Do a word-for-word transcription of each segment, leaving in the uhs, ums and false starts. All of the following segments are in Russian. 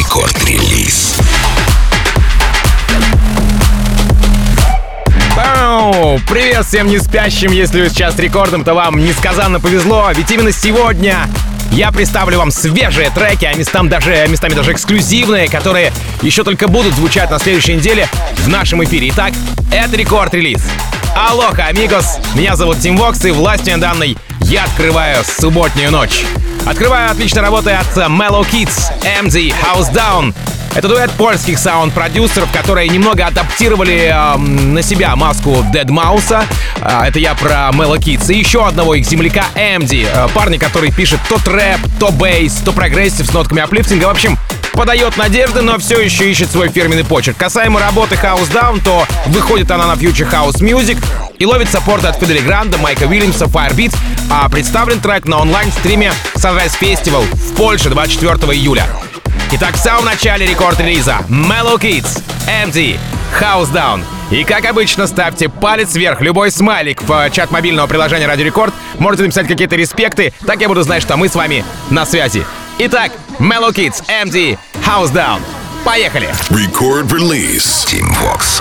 Рекорд-релиз. Привет всем не спящим, если вы сейчас с рекордом, то вам несказанно повезло, ведь именно сегодня я представлю вам свежие треки, а местам даже, местами даже эксклюзивные, которые еще только будут звучать на следующей неделе в нашем эфире. Итак, это рекорд-релиз. Алоха, амигос, меня зовут Тим Вокс, и властью данной я открываю субботнюю ночь. Открываю отличной работой от Mellow Kids, эм ди, House Down. Это дуэт польских саунд-продюсеров, которые немного адаптировали э, на себя маску Deadmau5. Э, это я про Mellow Kids. И еще одного их земляка эм ди. Э, парня, который пишет то трэп, то бейс, то прогрессив с нотками аплифтинга. В общем, подает надежды, но все еще ищет свой фирменный почерк. Касаемо работы House Down, то выходит она на Future House Music и ловит саппорт от Фидели Гранда, Майка Уильямса, Firebeat. А представлен трек на онлайн-стриме Sunrise Festival в Польше двадцать четвёртого июля. Итак, в самом начале рекорд-релиза Mellow Kids, эм ди, House Down. И как обычно, ставьте палец вверх, любой смайлик в чат мобильного приложения Радио Рекорд. Можете написать какие-то респекты, так я буду знать, что мы с вами на связи. Итак, Mellow Kids, эм ди, House Down. Поехали! Рекорд-релиз. Тим Вокс.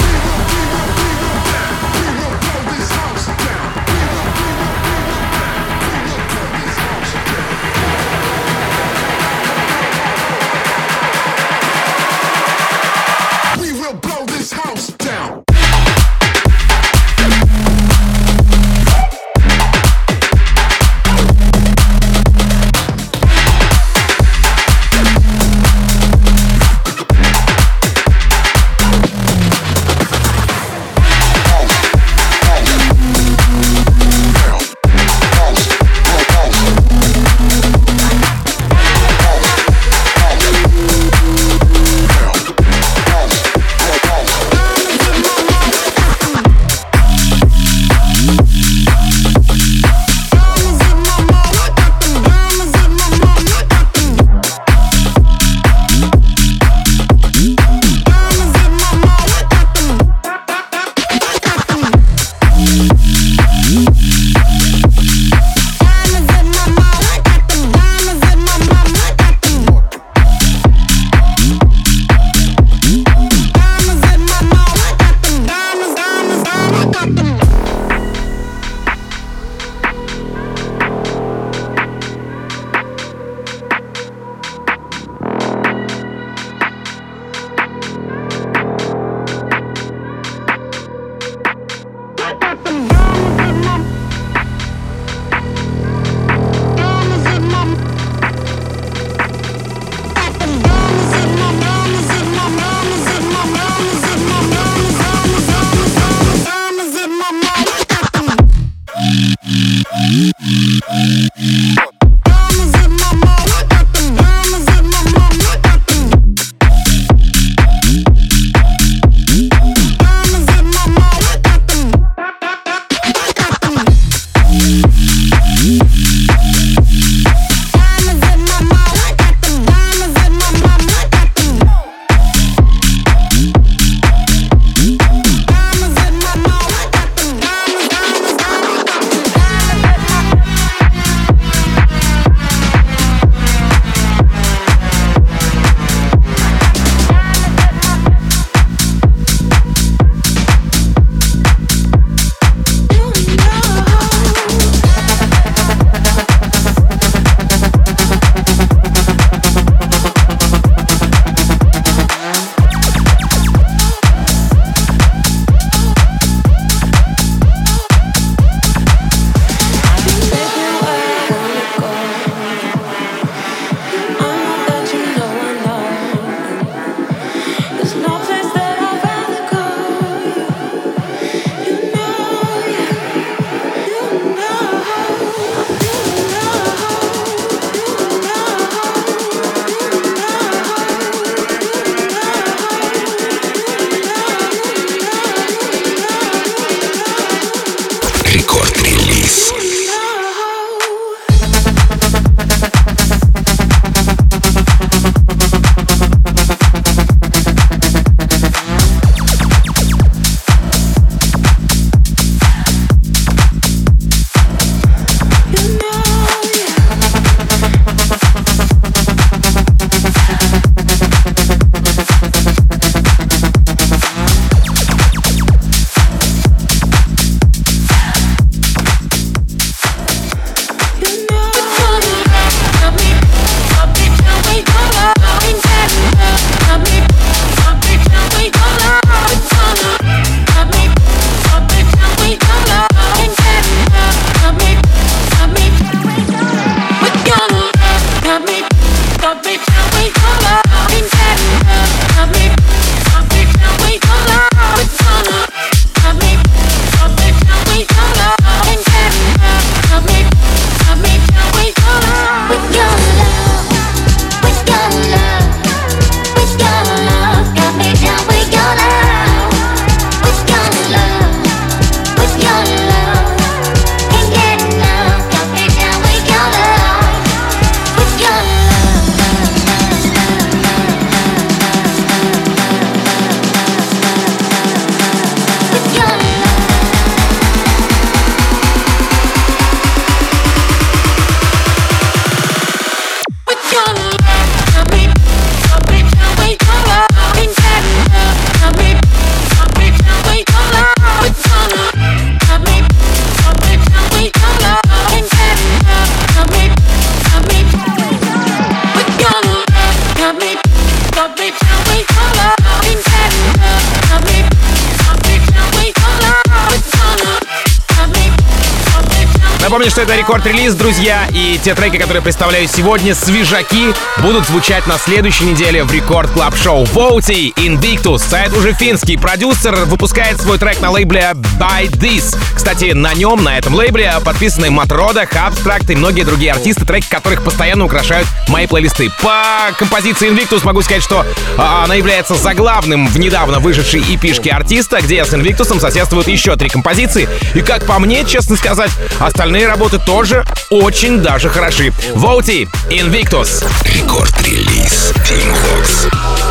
Напомню, что это рекорд-релиз, друзья, и те треки, которые представляю сегодня, свежаки, будут звучать на следующей неделе в Рекорд Клаб Шоу. Voutey, Invictus, сайт уже финский, продюсер, выпускает свой трек на лейбле By This. Кстати, на нем, на этом лейбле, подписаны Матрода, Abstract и многие другие артисты, треки которых постоянно украшают мои плейлисты. По композиции Invictus могу сказать, что а, она является заглавным в недавно вышедшей и пи-шке артиста, где с Invictus соседствуют еще три композиции. И как по мне, честно сказать, остальные работы тоже очень даже хороши. Voutey, Invictus. Рекорд-релиз Team Vox.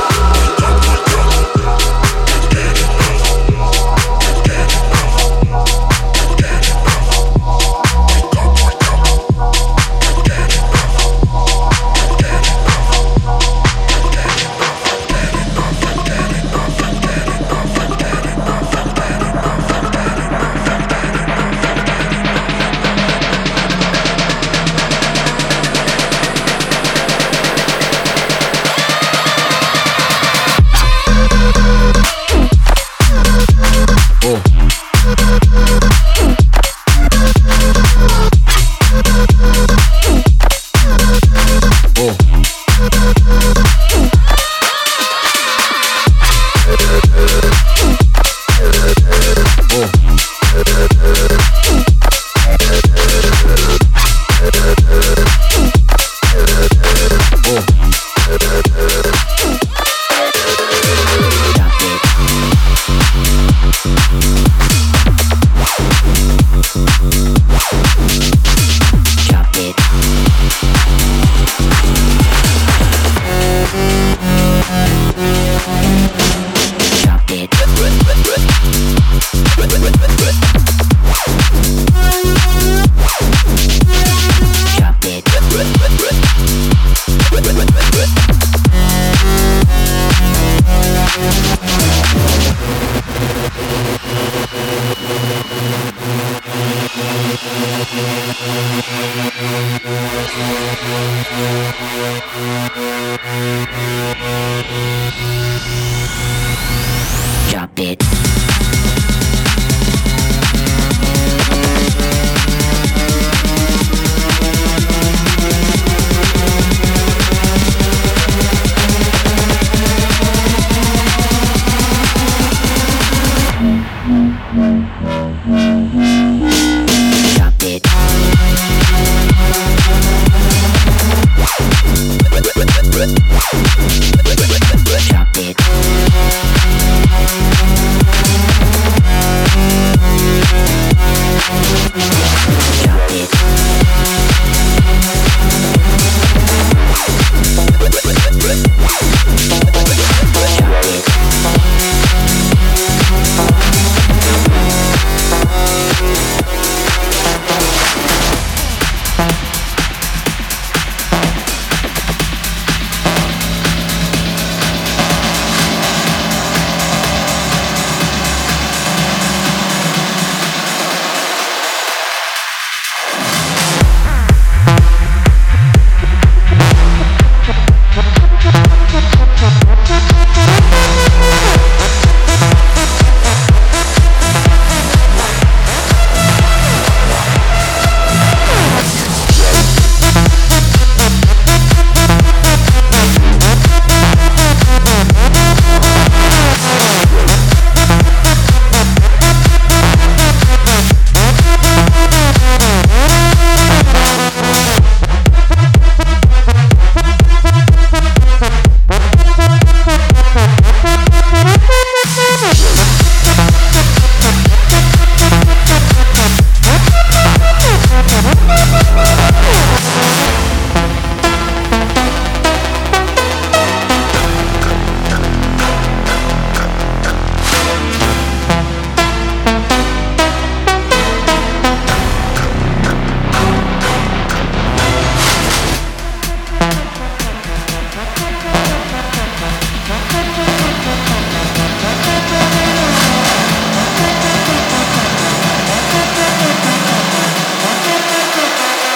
Drop it.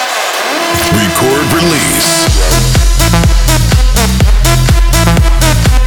Record release.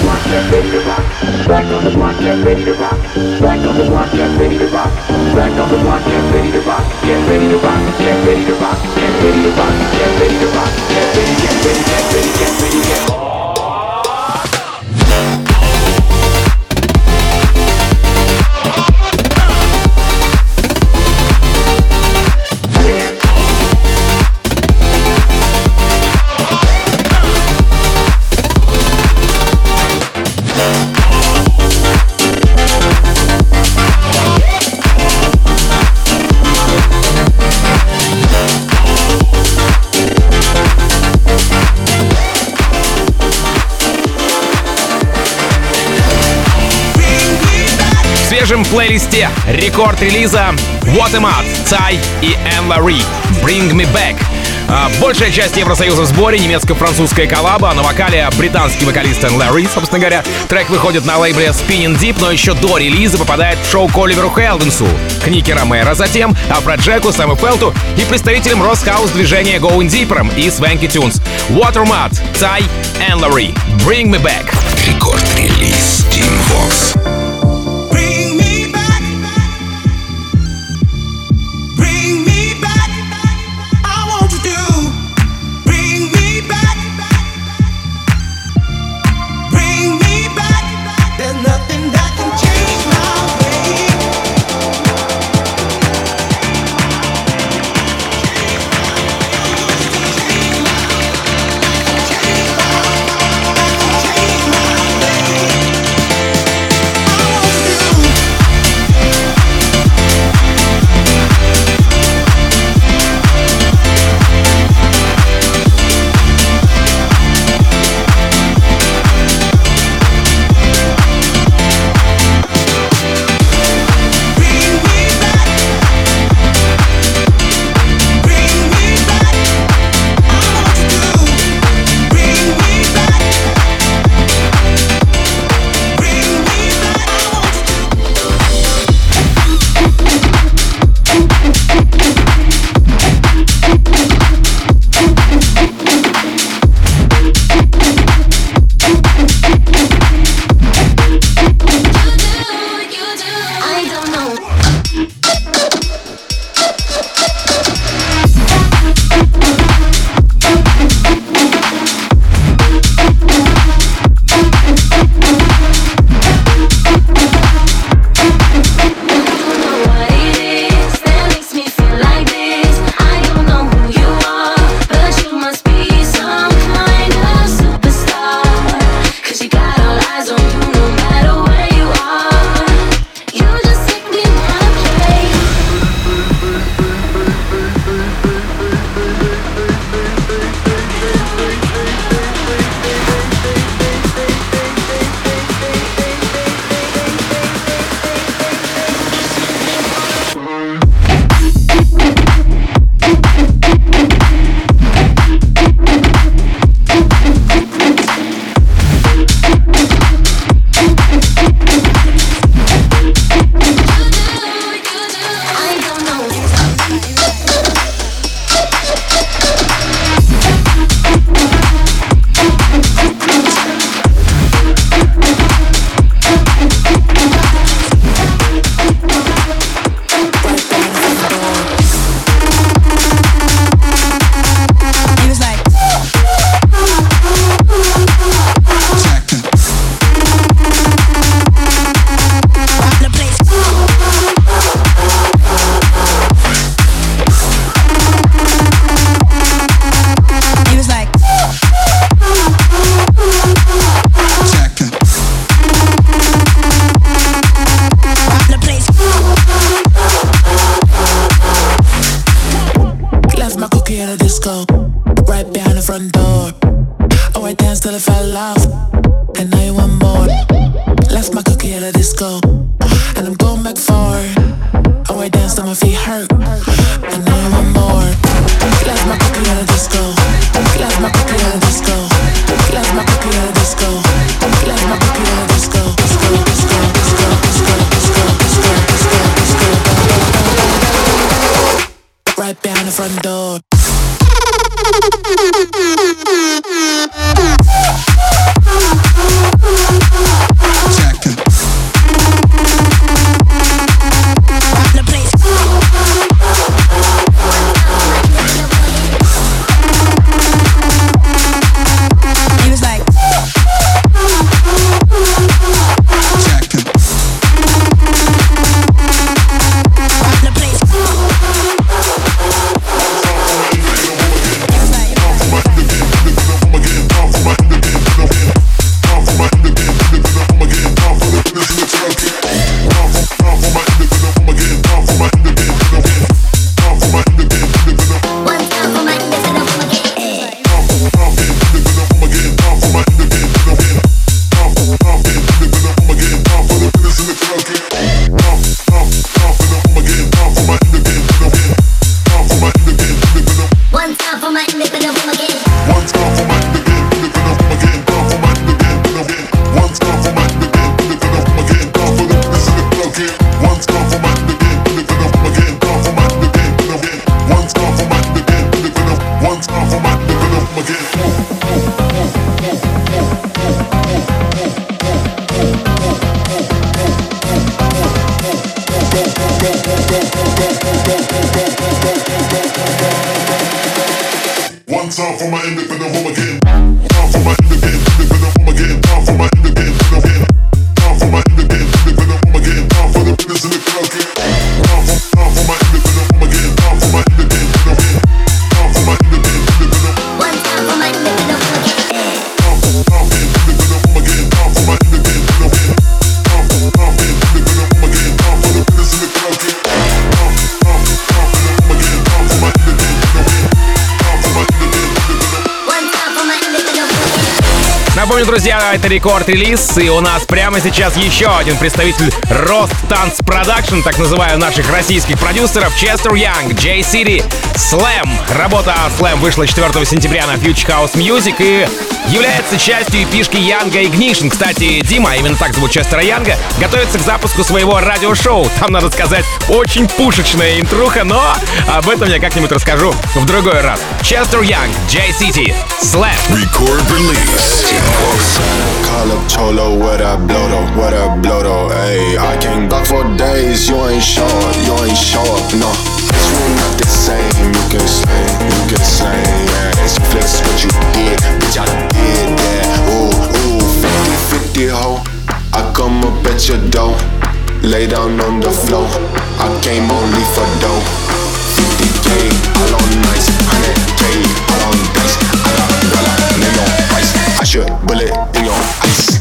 В свежем плейлисте рекорд релиза What Am I, Цай и Энн-Лари Bring Me Back. Большая часть Евросоюза в сборе, немецко-французская коллаба, на вокале британский вокалист Энн-Лари, собственно говоря. Трек выходит на лейбле Spinning Deep, но еще до релиза попадает в шоу к Оливеру Хелденсу, к Никки Ромеро, затем Афроджеку, Сэму Фелту и представителям Росхаус движения Going Deeper и Swanky Tunes. Watermat, Цай, Энн-Лари Bring Me Back. Рекорд-релиз Team Vox. Front door. time for my independent home again. Time for my independent, independent home again. Time for my independent, independent. Time for my independent, independent home again. Time for the business in the club again. Time for, time for my independent home again. Time for my independent, independent. Time for my independent, independent. One time for my independent home again. Time for, time for independent home again. Time for my independent, independent. Time for, time for independent home again. Time for the business in the club again. Time for, time for, time for home again. Time for my independent, independent. Time for my independent, independent. One time for my independent home again. Напомню, друзья, это рекорд-релиз, и у нас прямо сейчас еще один представитель Рост Танц Продакшн, так называю наших российских продюсеров, Честер Янг, J-City, Slam. Работа Slam вышла четвёртого сентября на Future House Music и является частью эпишки Янга Ignition. Кстати, Дима, именно так зовут Честера Янга, готовится к запуску своего радиошоу. Там, надо сказать, очень пушечная интруха, но об этом я как-нибудь расскажу в другой раз. Честер Янг, J-City, Slam. Record release. Team Vox. Call up Cholo, what I blow though, what I blow though, ayy. I can't block for days, you ain't show up, you ain't show up, no. It's really not the same, you can slay, you can slay, yeah. It's flex what you did, bitch, I did that. Ooh, ooh, fifty fifty ho, I come up at your door, lay down on the floor, I came only for dough. fifty K, all on nice, one hundred K, all on dice, I got dollar, name on price, I should bullet in your ice.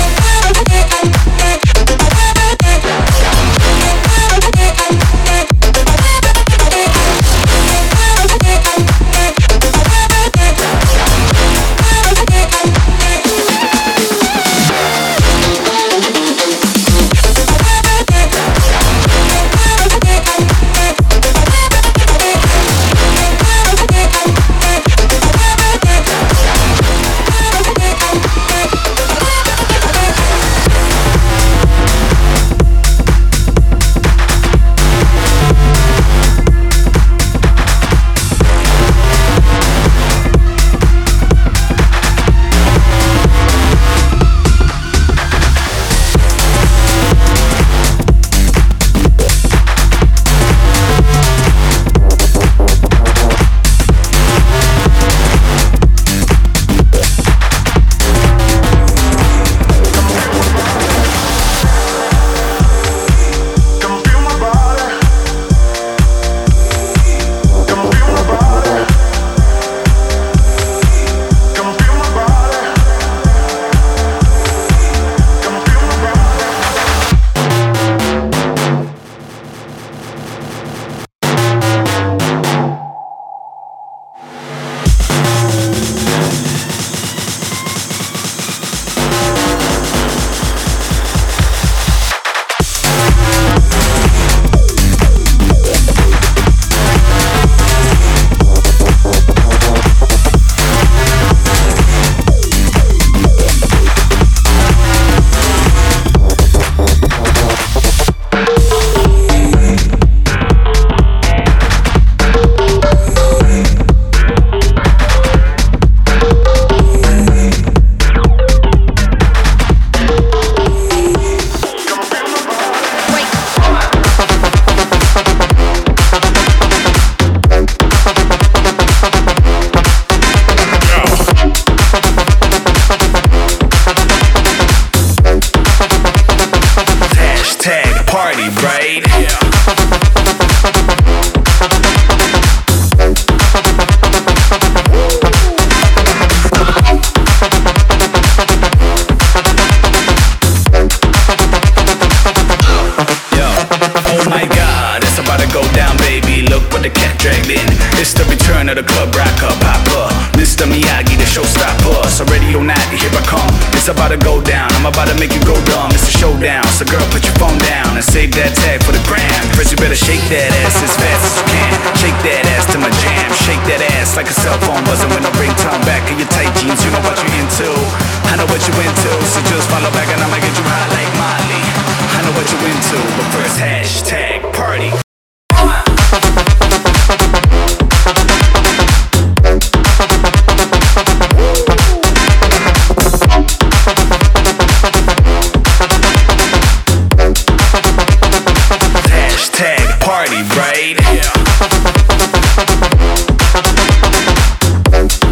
about to go down, I'm about to make you go dumb. It's a showdown, so girl, put your phone down and save that tag for the gram. First you better shake that ass as fast as you can. Shake that ass to my jam. Shake that ass like a cell phone buzzing when I ringtone back in your tight jeans. You know what you're into, I know what you into. So just follow back and I'ma get you high like Molly. I know what you into, but first hashtag party. Right? Yeah.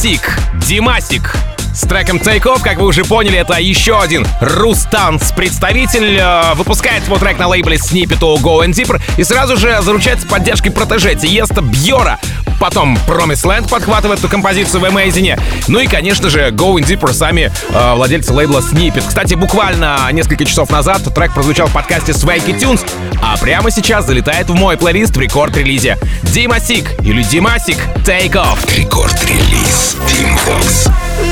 Димасик. Димасик. С треком Take Off, как вы уже поняли, это еще один Рустанс представитель. Э, выпускает свой трек на лейбле Snippet у Go Deeper и сразу же заручается поддержкой протеже Тиеста Бьора. Потом Promised Land подхватывает эту композицию в Amazing. Ну и, конечно же, Go Deeper сами э, владельцы лейбла Snippet. Кстати, буквально несколько часов назад трек прозвучал в подкасте Swaggy Tunes, а прямо сейчас залетает в мой плейлист в рекорд-релизе. Димасик или Димасик Take Off. Рекорд-релиз Team Fox.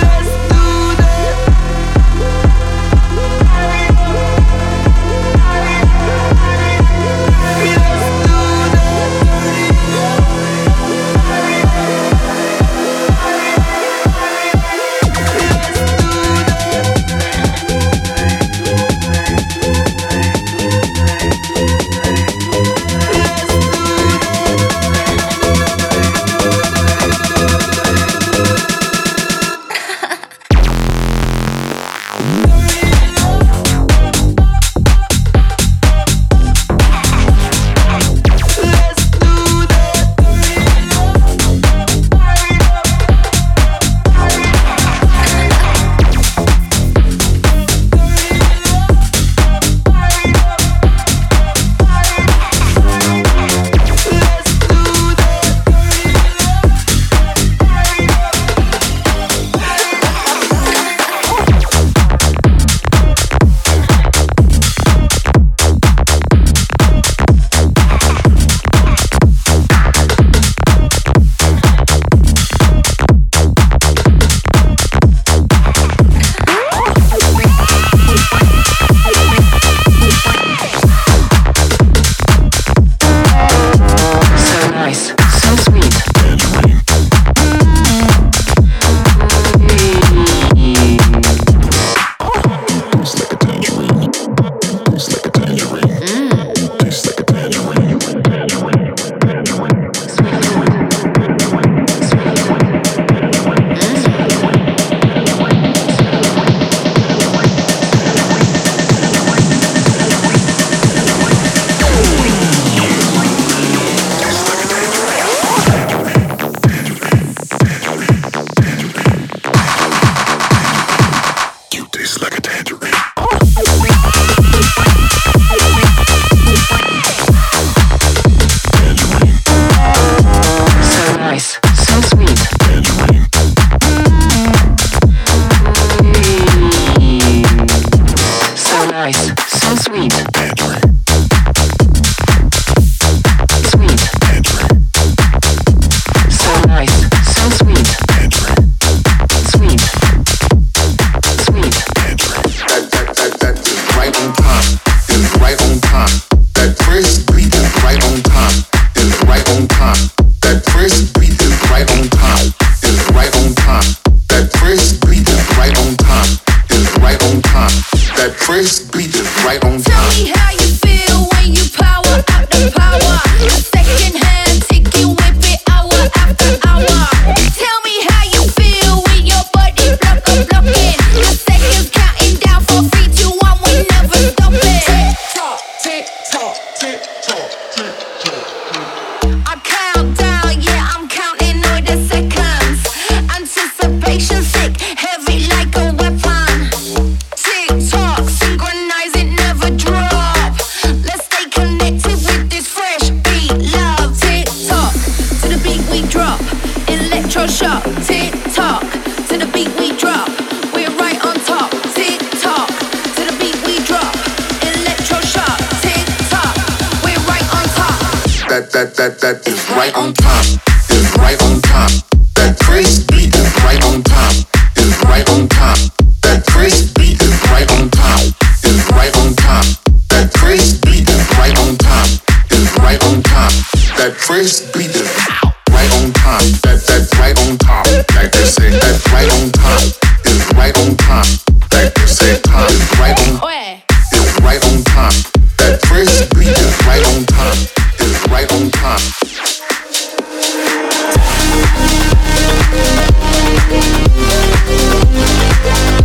That, that, that is right on time, is right on time. That crisp beat is right on time, is right on time. That crisp beat is right on time, is right on time. That crisp beat is right on time, is right on time. That crisp beat is right on time. That that's right on top, like they say. That's right on time, is right on time. Like they say, time is right on, is right on time. That crisp beat is right on time, is right on time. We'll be right back.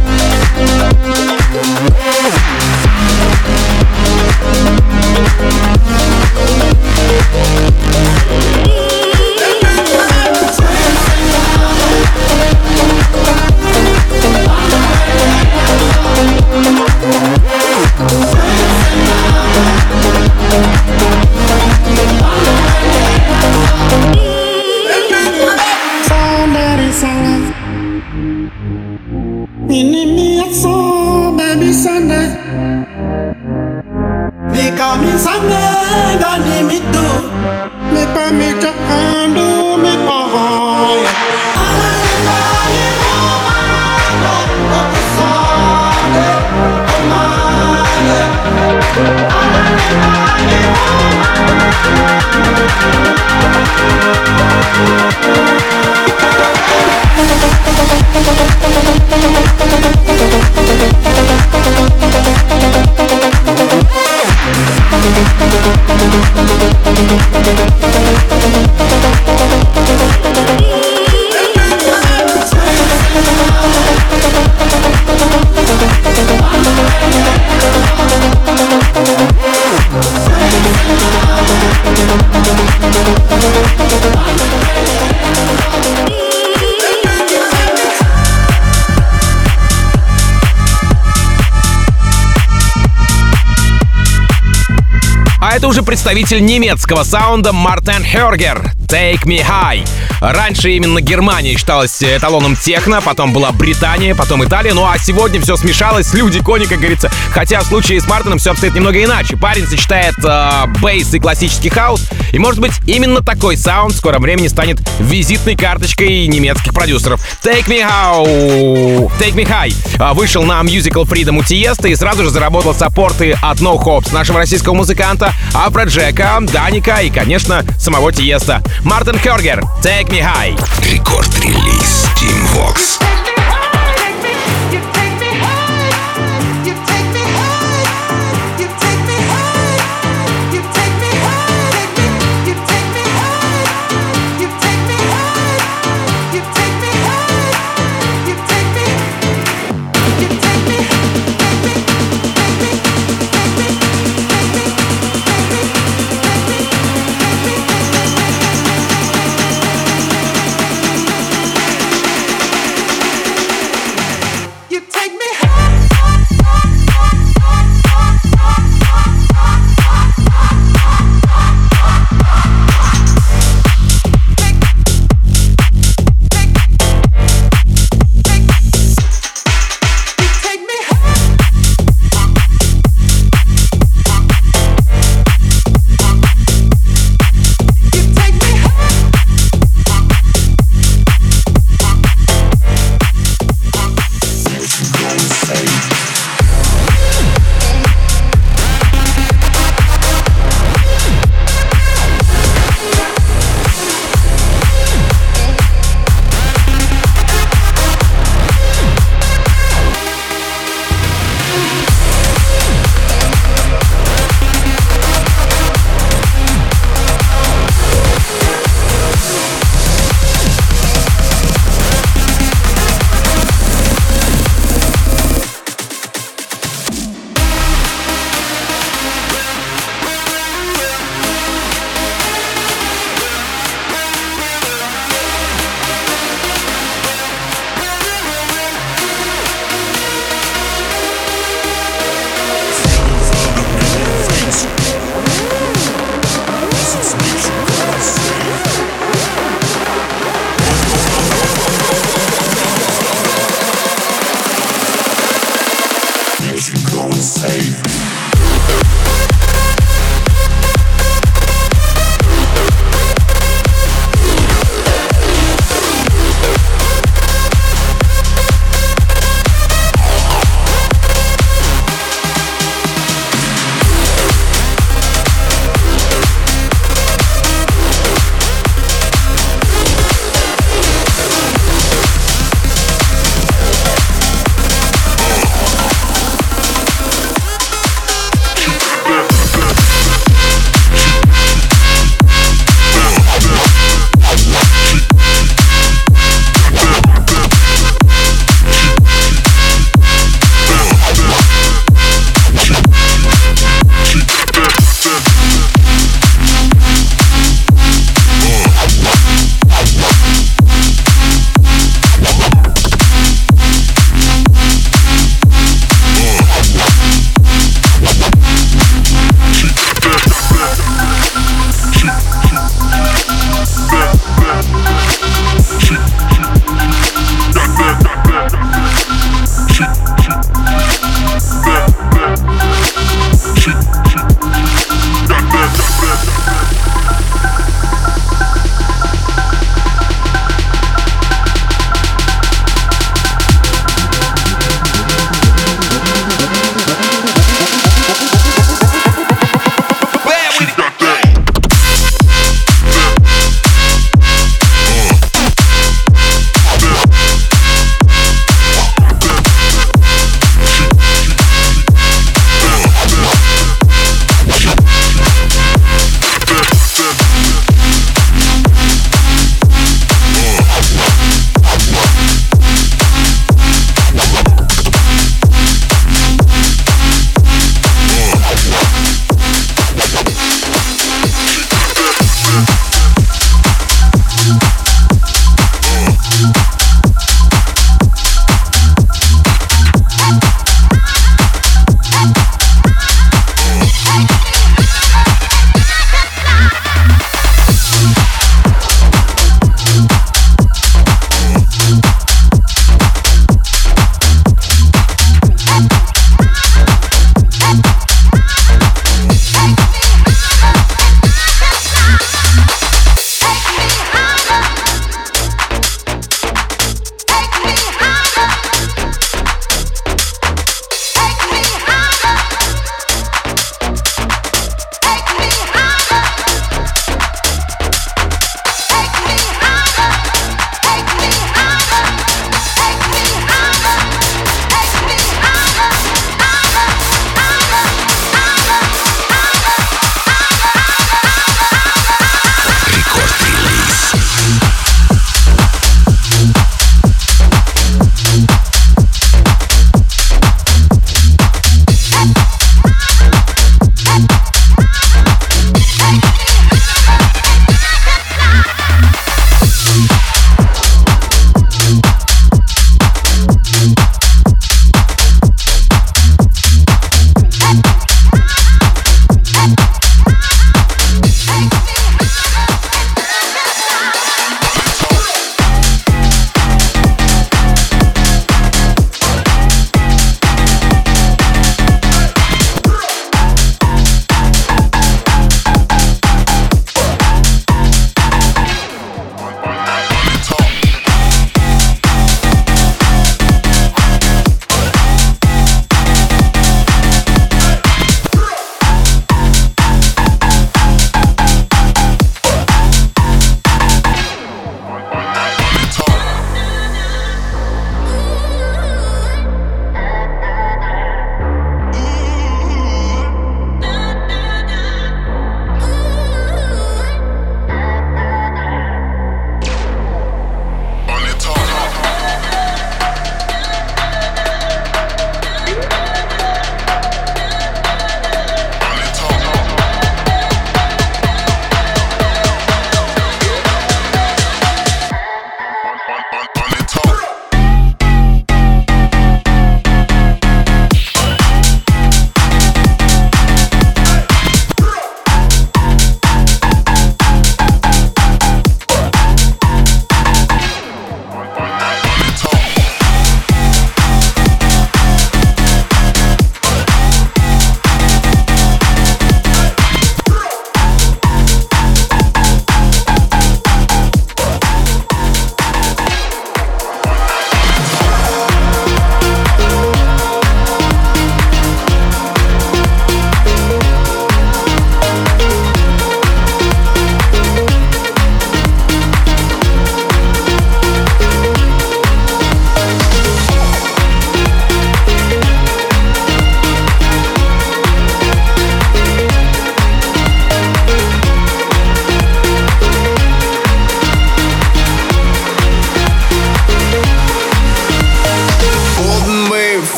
Это уже представитель немецкого саунда Мартен Хёргер. Take Me High. Раньше именно Германия считалась эталоном техно, потом была Британия, потом Италия. Ну а сегодня все смешалось, люди, кони, как говорится. Хотя в случае с Мартином все обстоит немного иначе. Парень сочетает э, бейс и классический хаус. И может быть именно такой саунд в скором времени станет визитной карточкой немецких продюсеров. Take Me High, Take Me High вышел на Musical Freedom у Тиеста и сразу же заработал саппорты от No Hops, нашего российского музыканта, Афроджека, Даника и, конечно, самого Тиеста. Мартен Хёргер, Take Me High. Рекорд-релиз Team Vox.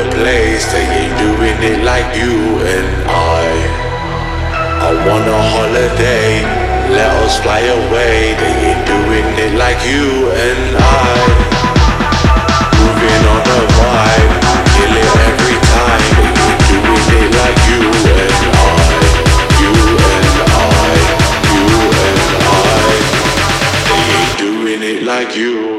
the place, they ain't doing it like you and I. I want a holiday, let us fly away. They ain't doing it like you and I. Moving on the vibe, kill it every time. They ain't doing it like you and I. You and I, you and I. They ain't doing it like you.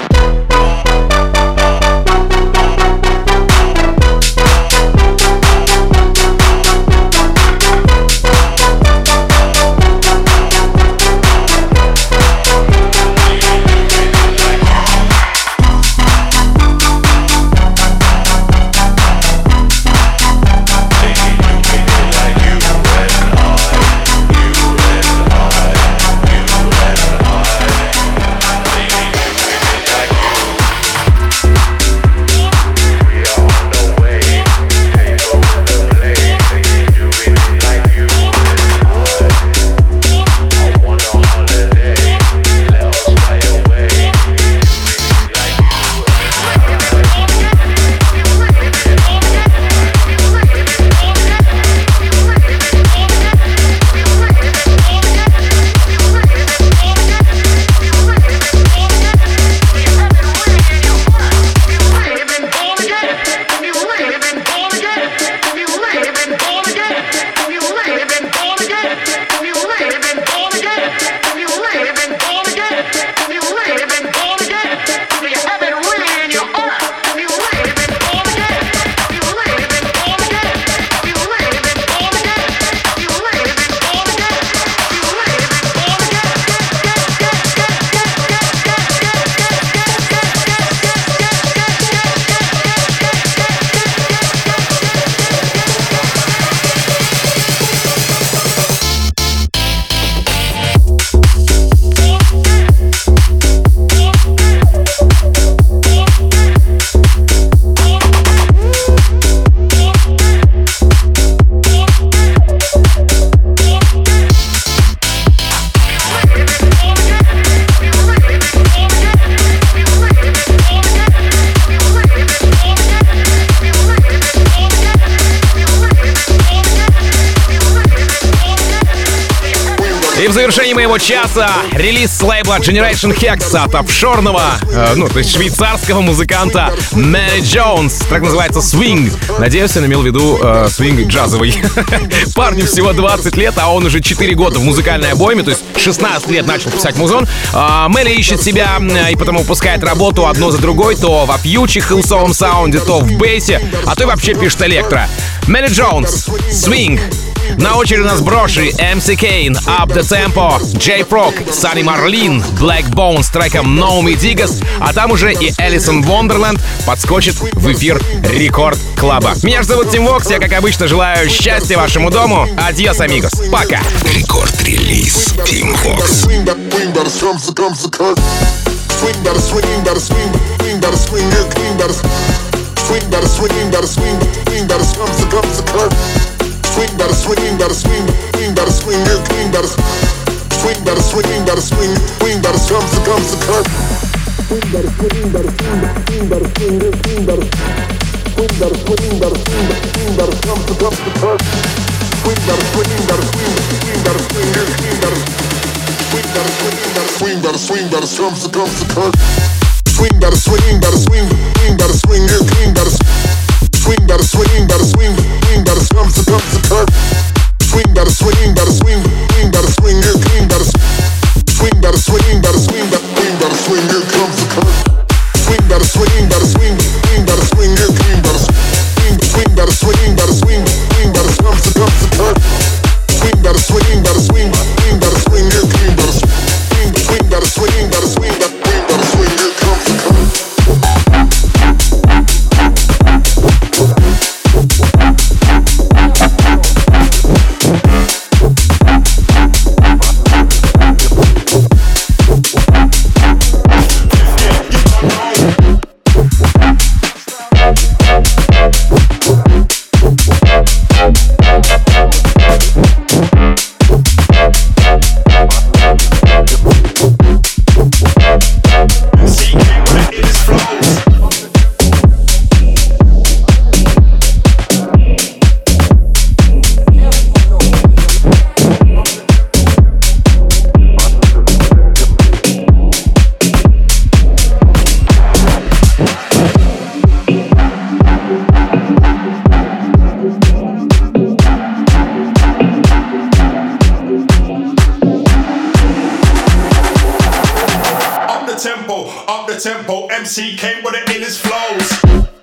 И в завершении моего часа релиз с лейбла Generation Hex от офшорного, э, ну, то есть швейцарского музыканта Мэри Джонс. Трек называется «Swing». Надеюсь, он имел в виду э, свинг джазовый. Парню всего двадцать лет, а он уже четыре года в музыкальной обойме, то есть шестнадцать лет начал писать музон. Э, Мэри ищет себя э, и потому выпускает работу одно за другой, то в опьючих хилсовом саунде, то в бейсе, а то и вообще пишет электро. Мэри Джонс, «Swing». На очереди у нас Броши, эм си Kane, Up the Tempo, J-Frog, Sunny Marlin, Black Bone с треком No Me Digas, а там уже и Элисон Вондерленд подскочит в эфир Рекорд Клаба. Меня же зовут Тим Вокс, я, как обычно, желаю счастья вашему дому. Адьос, амигос. Пока. Рекорд-релиз Тим Вокс. Swing, better swing, better swing, swing, better swing, your king, better swing, better swing, better swing, swing, better comes to comes to curve. Swing, better swing, better swing, swing, better swing, your king, better swing, better swing, better swing, swing, better comes to comes to curve. Swing, better swing, better swing, swing, better swing, your king, better swing, better swing, better swing, better swing, better comes to comes to curve. Swing, better swing, better swing, swing, better swing, your king, better swing, better swing, better swing, swing, better comes to comes to curve. Swing, better swing, better swing, swing, better swing, your king, better swing, better swing, better swing, better swing, better swing, here comes the curve. Swing, better swing, better swing, swing, better swing, your king, better swing, swing, better swing, better swing, swing, better comes to comes to curve. Swing, better swing, better swing, swing, better swing, your king, better swing, swing, better swing, better swing, better swing, better swing, here comes the curve. tempo. M C came with the illest flows.